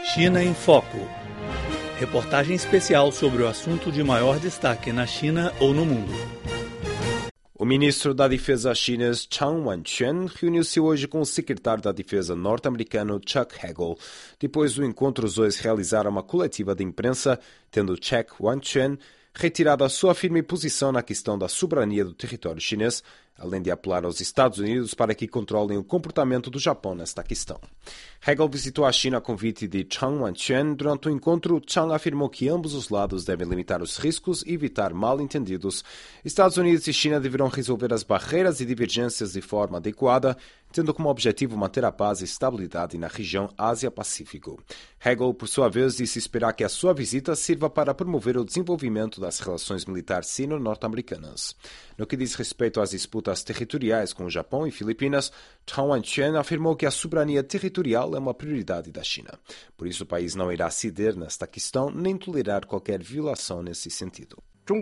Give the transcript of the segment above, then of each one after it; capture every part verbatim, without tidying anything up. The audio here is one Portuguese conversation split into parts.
China em Foco. Reportagem especial sobre o assunto de maior destaque na China ou no mundo. O ministro da Defesa chinês Chang Wanquan reuniu-se hoje com o secretário da Defesa norte-americano Chuck Hagel. Depois do encontro, os dois realizaram uma coletiva de imprensa, tendo Chuck Wanquan retirado a sua firme posição na questão da soberania do território chinês, além de apelar aos Estados Unidos para que controlem o comportamento do Japão nesta questão. Hagel visitou a China a convite de Chang Wanquan. Durante o encontro, Chang afirmou que ambos os lados devem limitar os riscos e evitar mal-entendidos. Estados Unidos e China deverão resolver as barreiras e divergências de forma adequada, tendo como objetivo manter a paz e estabilidade na região Ásia-Pacífico. Hagel, por sua vez, disse esperar que a sua visita sirva para promover o desenvolvimento das relações militares sino-norte-americanas. No que diz respeito às disputas territoriais com o Japão e Filipinas, Chang Wanquan afirmou que a soberania territorial é uma prioridade da China. Por isso, o país não irá ceder nesta questão nem tolerar qualquer violação nesse sentido.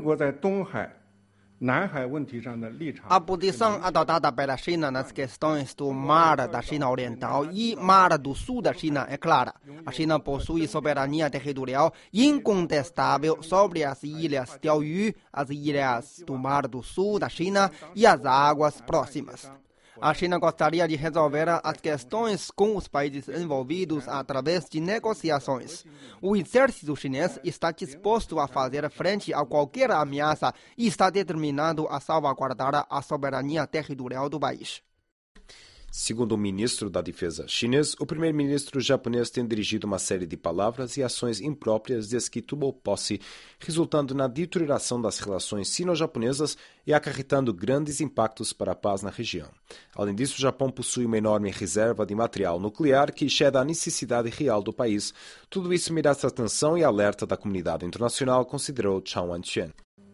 A posição adotada pela China nas questões do Mar da China Oriental e Mar do Sul da China é clara. A China possui soberania territorial incontestável sobre as ilhas Diaoyu, as ilhas do Mar do Sul da China e as águas próximas. A China gostaria de resolver as questões com os países envolvidos através de negociações. O exército chinês está disposto a fazer frente a qualquer ameaça e está determinado a salvaguardar a soberania territorial do país. Segundo o ministro da Defesa chinês, o primeiro-ministro japonês tem dirigido uma série de palavras e ações impróprias desde que tomou posse, resultando na deterioração das relações sino-japonesas e acarretando grandes impactos para a paz na região. Além disso, o Japão possui uma enorme reserva de material nuclear que excede a necessidade real do país. Tudo isso merece atenção e alerta da comunidade internacional, considerou Chang Wanquan.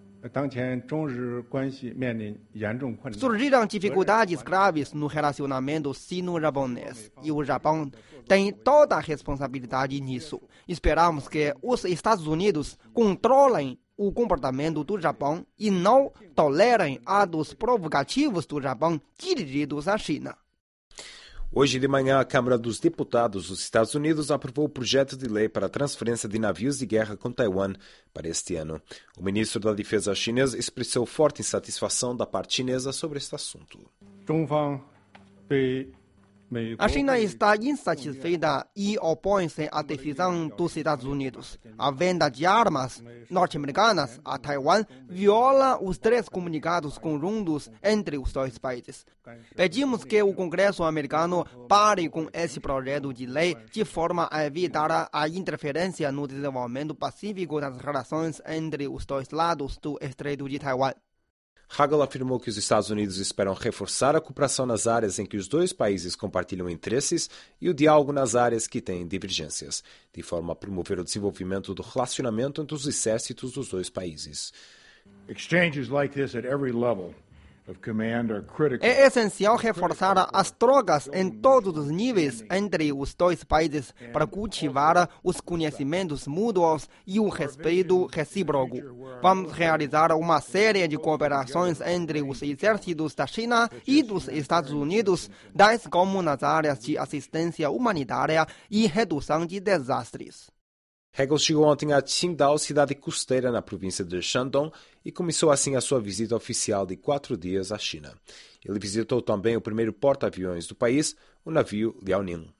Surgiram dificuldades graves no relacionamento sino-japonês e o Japão tem toda a responsabilidade nisso. Esperamos que os Estados Unidos controlem o comportamento do Japão e não tolerem atos provocativos do Japão dirigidos à China. Hoje de manhã, a Câmara dos Deputados dos Estados Unidos aprovou o projeto de lei para a transferência de navios de guerra com Taiwan para este ano. O ministro da Defesa chinês expressou forte insatisfação da parte chinesa sobre este assunto. A China está insatisfeita e opõe-se à decisão dos Estados Unidos. A venda de armas norte-americanas a Taiwan viola os três comunicados conjuntos entre os dois países. Pedimos que o Congresso americano pare com esse projeto de lei de forma a evitar a interferência no desenvolvimento pacífico das relações entre os dois lados do Estreito de Taiwan. Hagel afirmou que os Estados Unidos esperam reforçar a cooperação nas áreas em que os dois países compartilham interesses e o diálogo nas áreas que têm divergências, de forma a promover o desenvolvimento do relacionamento entre os exércitos dos dois países. Exchanges like this at every level of command are critical. É essencial reforçar as trocas em todos os níveis entre os dois países para cultivar os conhecimentos mútuos e o respeito recíproco. Vamos realizar uma série de cooperações entre os exércitos da China e dos Estados Unidos, tais como nas áreas de assistência humanitária e redução de desastres. Hagel chegou ontem a Qingdao, cidade costeira na província de Shandong, e começou assim a sua visita oficial de quatro dias à China. Ele visitou também o primeiro porta-aviões do país, o navio Liaoning.